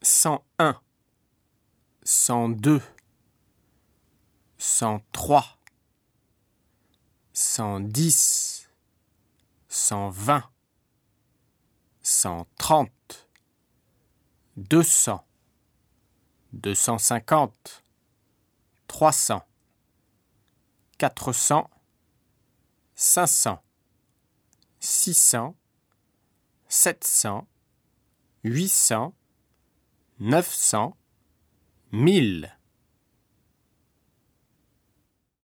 101, 102, 103, 110, 120, 130, 200, 250, 300, 400, 500, 600, 700, 800, 900, 1000.